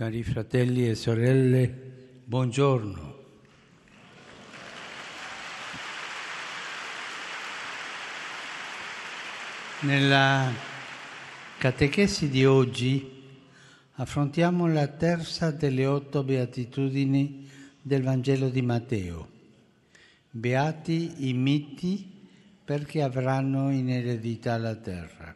Cari fratelli e sorelle, buongiorno. Nella catechesi di oggi affrontiamo la terza delle 8 beatitudini del Vangelo di Matteo. Beati i miti perché avranno in eredità la terra.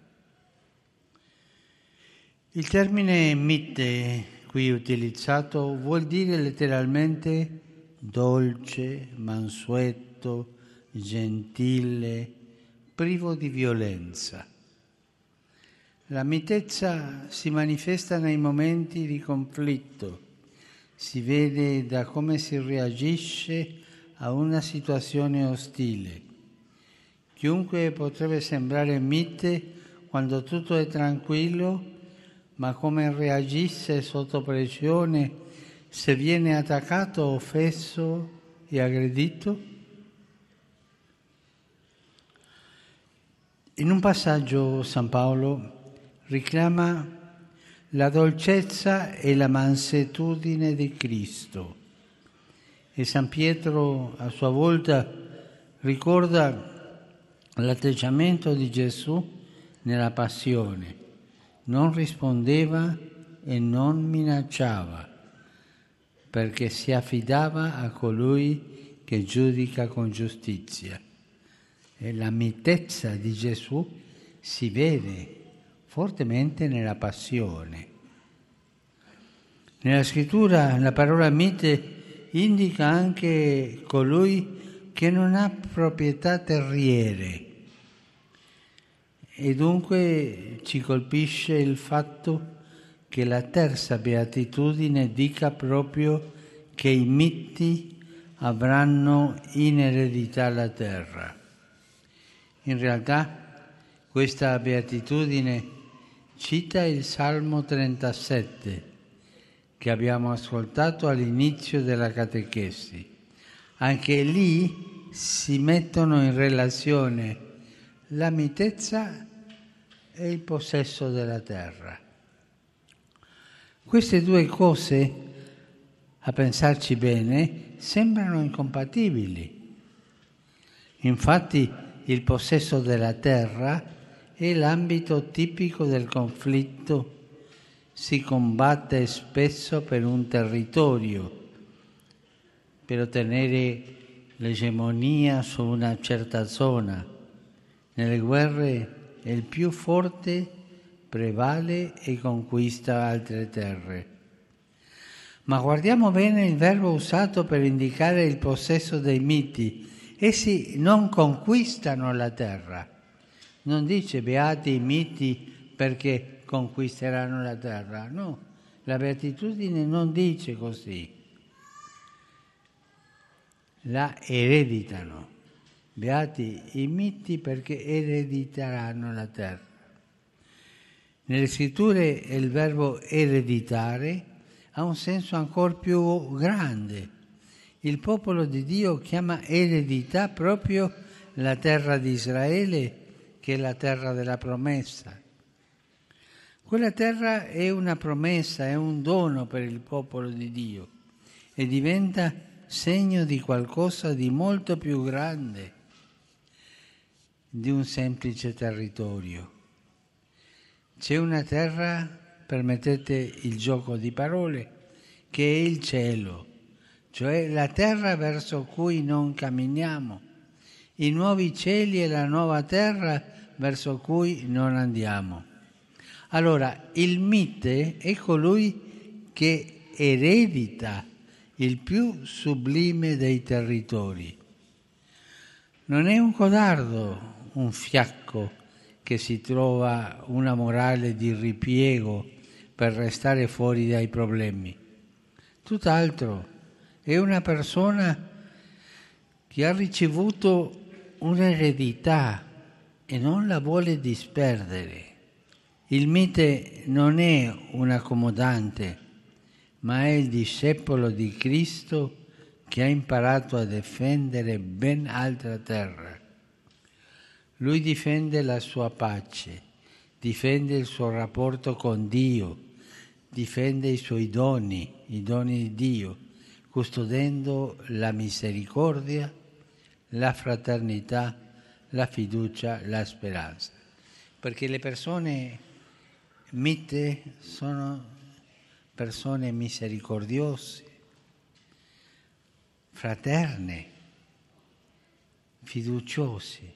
Il termine mite qui utilizzato vuol dire letteralmente dolce, mansueto, gentile, privo di violenza. La mitezza si manifesta nei momenti di conflitto, si vede da come si reagisce a una situazione ostile. Chiunque potrebbe sembrare mite quando tutto è tranquillo, ma come reagisce sotto pressione se viene attaccato, offeso e aggredito? In un passaggio San Paolo richiama la dolcezza e la mansuetudine di Cristo e San Pietro a sua volta ricorda l'atteggiamento di Gesù nella passione. Non rispondeva e non minacciava, perché si affidava a colui che giudica con giustizia. E la mitezza di Gesù si vede fortemente nella passione. Nella scrittura la parola mite indica anche colui che non ha proprietà terriere. E dunque ci colpisce il fatto che la terza beatitudine dica proprio che i miti avranno in eredità la terra. In realtà questa beatitudine cita il Salmo 37 che abbiamo ascoltato all'inizio della catechesi. Anche lì si mettono in relazione la mitezza e il possesso della terra. Queste due cose, a pensarci bene, sembrano incompatibili. Infatti il possesso della terra è l'ambito tipico del conflitto. Si combatte spesso per un territorio, per ottenere l'egemonia su una certa zona. Nelle guerre il più forte prevale e conquista altre terre. Ma guardiamo bene il verbo usato per indicare il possesso dei miti. Essi non conquistano la terra. Non dice beati i miti perché conquisteranno la terra. No, la beatitudine non dice così. La ereditano. Beati i miti perché erediteranno la terra. Nelle scritture il verbo ereditare ha un senso ancora più grande. Il popolo di Dio chiama eredità proprio la terra di Israele, che è la terra della promessa. Quella terra è una promessa, è un dono per il popolo di Dio e diventa segno di qualcosa di molto più grande di un semplice territorio. C'è una terra, permettete il gioco di parole, che è il cielo, cioè la terra verso cui non camminiamo, i nuovi cieli e la nuova terra verso cui non andiamo. Allora, il mite è colui che eredita il più sublime dei territori. Non è un codardo, un fiacco che si trova una morale di ripiego per restare fuori dai problemi. Tutt'altro, è una persona che ha ricevuto un'eredità e non la vuole disperdere. Il mite non è un accomodante, ma è il discepolo di Cristo che ha imparato a difendere ben altra terra. Lui difende la sua pace, difende il suo rapporto con Dio, difende i suoi doni, i doni di Dio, custodendo la misericordia, la fraternità, la fiducia, la speranza. Perché le persone mite sono persone misericordiose, fraterne, fiduciose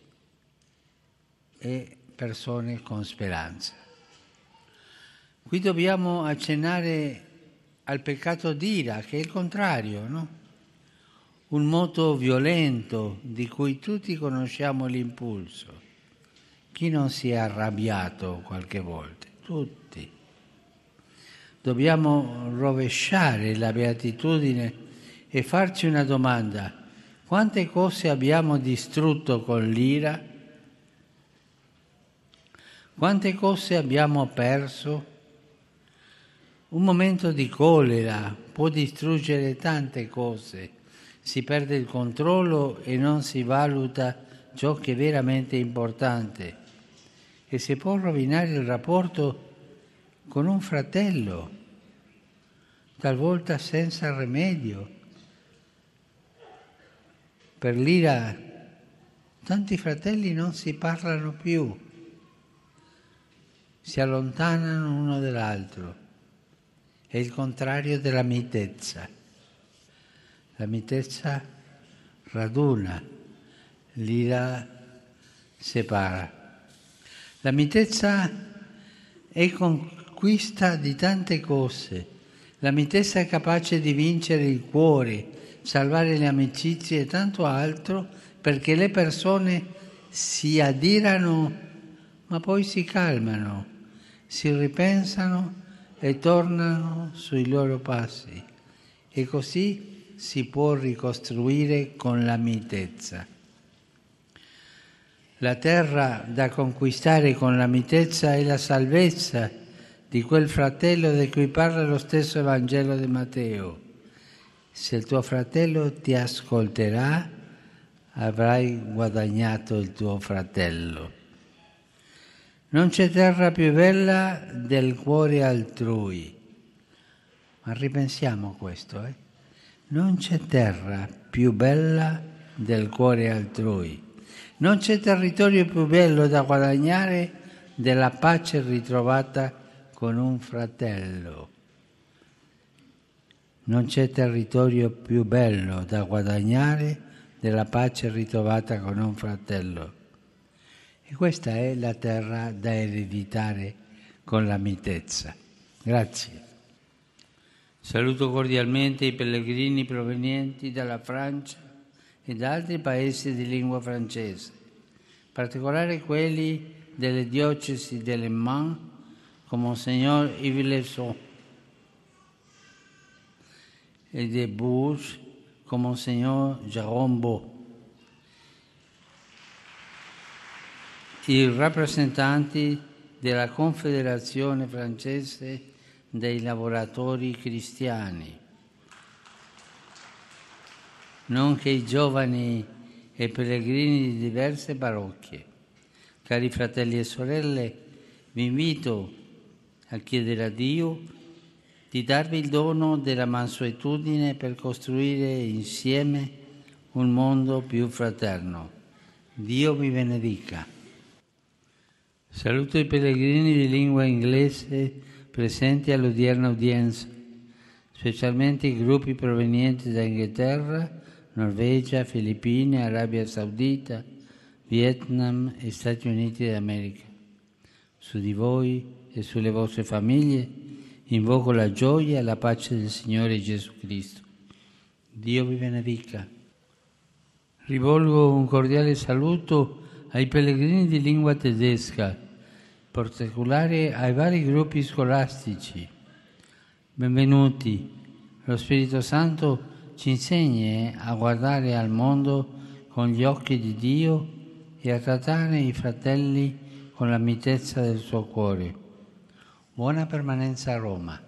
e persone con speranza. Qui dobbiamo accennare al peccato d'ira, che è il contrario, no? Un moto violento di cui tutti conosciamo l'impulso. Chi non si è arrabbiato qualche volta? Tutti. Dobbiamo rovesciare la beatitudine e farci una domanda. Quante cose abbiamo distrutto con l'ira? Quante cose abbiamo perso? Un momento di collera può distruggere tante cose. Si perde il controllo e non si valuta ciò che è veramente importante. E si può rovinare il rapporto con un fratello, talvolta senza rimedio. Per l'ira tanti fratelli non si parlano più, si allontanano uno dall'altro. È il contrario della mitezza. La mitezza raduna, l'ira separa. La mitezza è conquista di tante cose. La mitezza è capace di vincere il cuore, salvare le amicizie e tanto altro, perché le persone si adirano, ma poi si calmano, si ripensano e tornano sui loro passi. E così si può ricostruire con la mitezza. La terra da conquistare con la mitezza è la salvezza di quel fratello di cui parla lo stesso Vangelo di Matteo. Se il tuo fratello ti ascolterà, avrai guadagnato il tuo fratello. Non c'è terra più bella del cuore altrui. Ma ripensiamo a questo, Non c'è terra più bella del cuore altrui. Non c'è territorio più bello da guadagnare della pace ritrovata con un fratello. Non c'è territorio più bello da guadagnare della pace ritrovata con un fratello. E questa è la terra da ereditare con la mitezza. Grazie. Saluto cordialmente i pellegrini provenienti dalla Francia e da altri paesi di lingua francese, in particolare quelli delle diocesi de Le Mans, con Monsignor Yves Lesson, e di Bourges, con Monsignor Jérôme Beau. I rappresentanti della Confederazione francese dei lavoratori cristiani, nonché i giovani e pellegrini di diverse parrocchie. Cari fratelli e sorelle, vi invito a chiedere a Dio di darvi il dono della mansuetudine per costruire insieme un mondo più fraterno. Dio vi benedica. Saluto i pellegrini di lingua inglese presenti all'odierna udienza, specialmente i gruppi provenienti da Inghilterra, Norvegia, Filippine, Arabia Saudita, Vietnam e Stati Uniti d'America. Su di voi e sulle vostre famiglie invoco la gioia e la pace del Signore Gesù Cristo. Dio vi benedica. Rivolgo un cordiale saluto ai pellegrini di lingua tedesca, in particolare ai vari gruppi scolastici. Benvenuti. Lo Spirito Santo ci insegni a guardare al mondo con gli occhi di Dio e a trattare i fratelli con la mitezza del suo cuore. Buena permanencia a Roma.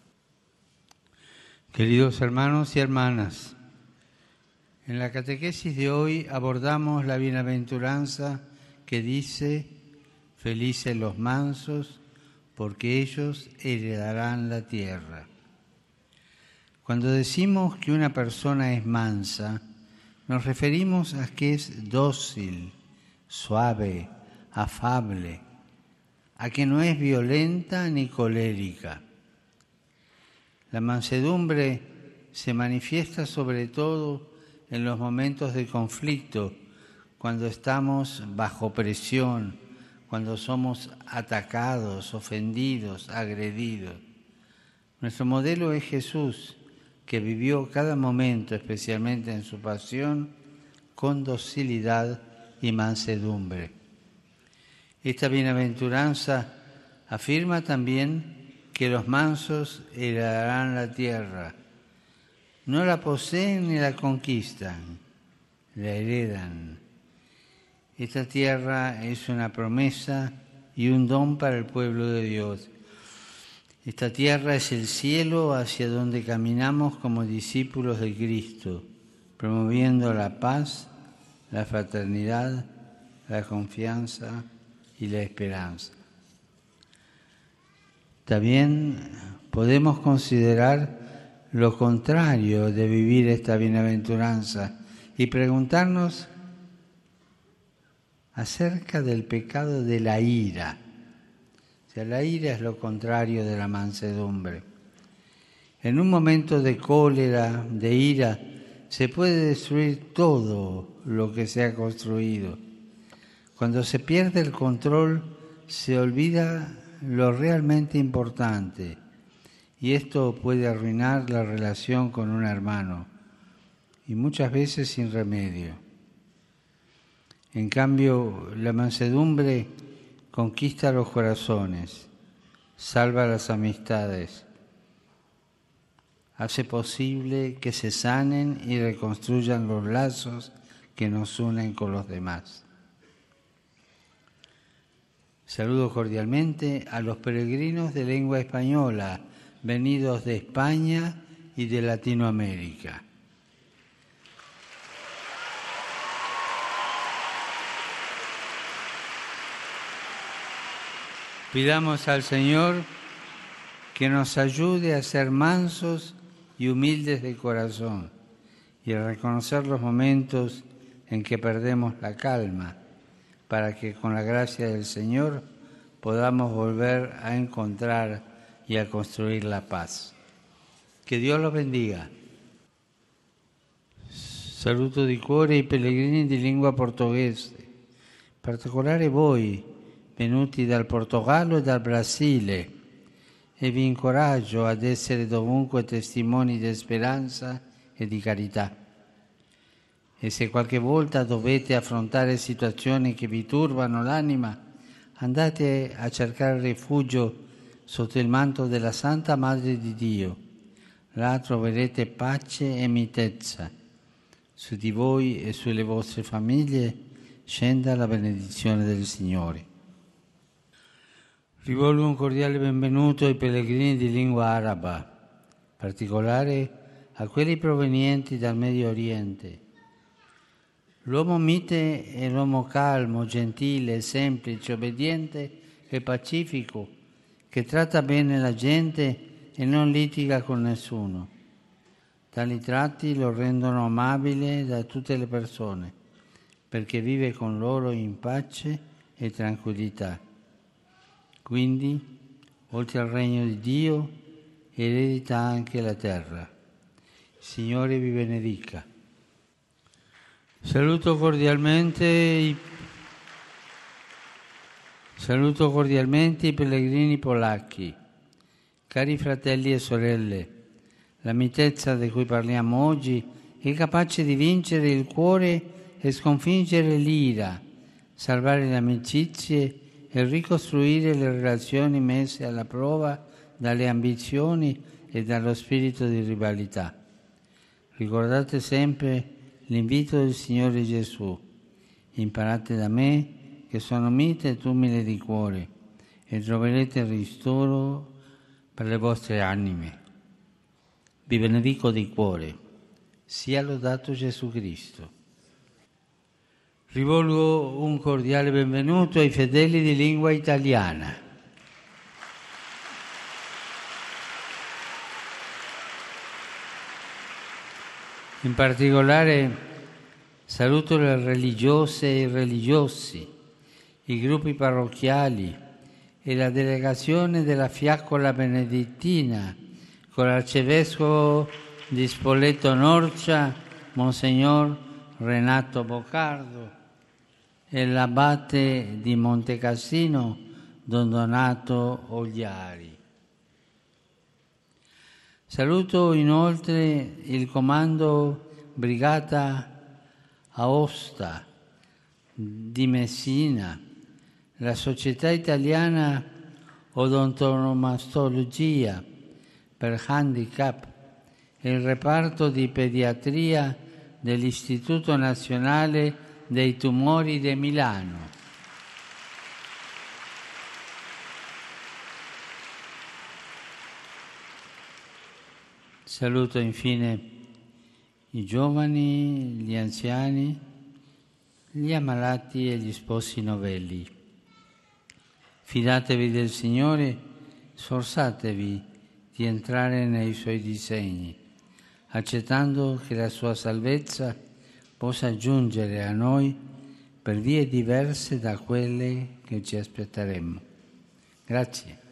Queridos hermanos y hermanas, en la catequesis de hoy abordamos la bienaventuranza que dice: felices los mansos, porque ellos heredarán la tierra. Cuando decimos que una persona es mansa, nos referimos a que es dócil, suave, afable, a que no es violenta ni colérica. La mansedumbre se manifiesta sobre todo en los momentos de conflicto, cuando estamos bajo presión, cuando somos atacados, ofendidos, agredidos. Nuestro modelo es Jesús, que vivió cada momento, especialmente en su pasión, con docilidad y mansedumbre. Esta bienaventuranza afirma también que los mansos heredarán la tierra. No la poseen ni la conquistan, la heredan. Esta tierra es una promesa y un don para el pueblo de Dios. Esta tierra es el cielo hacia donde caminamos como discípulos de Cristo, promoviendo la paz, la fraternidad, la confianza y la esperanza. También podemos considerar lo contrario de vivir esta bienaventuranza y preguntarnos acerca del pecado de la ira. O sea, la ira es lo contrario de la mansedumbre. En un momento de cólera, de ira, se puede destruir todo lo que se ha construido. Cuando se pierde el control, se olvida lo realmente importante, y esto puede arruinar la relación con un hermano, y muchas veces sin remedio. En cambio, la mansedumbre conquista los corazones, salva las amistades, hace posible que se sanen y reconstruyan los lazos que nos unen con los demás. Saludo cordialmente a los peregrinos de lengua española, venidos de España y de Latinoamérica. Pidamos al Señor que nos ayude a ser mansos y humildes de corazón y a reconocer los momentos en que perdemos la calma, para que con la gracia del Señor podamos volver a encontrar y a construir la paz. Que Dios los bendiga. Saluto di cuore i pellegrini di lingua portoghese, in particolare voi, venuti dal Portogallo e dal Brasile, e vi incoraggio ad essere dovunque testimoni di speranza e di carità. E se qualche volta dovete affrontare situazioni che vi turbano l'anima, andate a cercare rifugio sotto il manto della Santa Madre di Dio. Là troverete pace e mitezza. Su di voi e sulle vostre famiglie scenda la benedizione del Signore. Rivolgo un cordiale benvenuto ai pellegrini di lingua araba, in particolare a quelli provenienti dal Medio Oriente. L'uomo mite è l'uomo calmo, gentile, semplice, obbediente e pacifico, che tratta bene la gente e non litiga con nessuno. Tali tratti lo rendono amabile da tutte le persone, perché vive con loro in pace e tranquillità. Quindi, oltre al regno di Dio, eredita anche la terra. Il Signore vi benedica. Saluto cordialmente i pellegrini polacchi. Cari fratelli e sorelle, la mitezza di cui parliamo oggi è capace di vincere il cuore e sconfiggere l'ira, salvare le amicizie e ricostruire le relazioni messe alla prova dalle ambizioni e dallo spirito di rivalità. Ricordate sempre l'invito del Signore Gesù: imparate da me che sono mite ed umile di cuore e troverete ristoro per le vostre anime. Vi benedico di cuore. Sia lodato Gesù Cristo. Rivolgo un cordiale benvenuto ai fedeli di lingua italiana. In particolare saluto le religiose e i religiosi, i gruppi parrocchiali e la delegazione della Fiaccola Benedettina con l'arcivescovo di Spoleto Norcia, Monsignor Renato Boccardo, e l'abate di Montecassino, Don Donato Ogliari. Saluto inoltre il comando Brigata Aosta di Messina, la Società Italiana Odontomasologia per Handicap e il reparto di pediatria dell'Istituto Nazionale dei Tumori di Milano. Saluto infine i giovani, gli anziani, gli ammalati e gli sposi novelli. Fidatevi del Signore, sforzatevi di entrare nei Suoi disegni, accettando che la Sua salvezza possa giungere a noi per vie diverse da quelle che ci aspetteremmo. Grazie.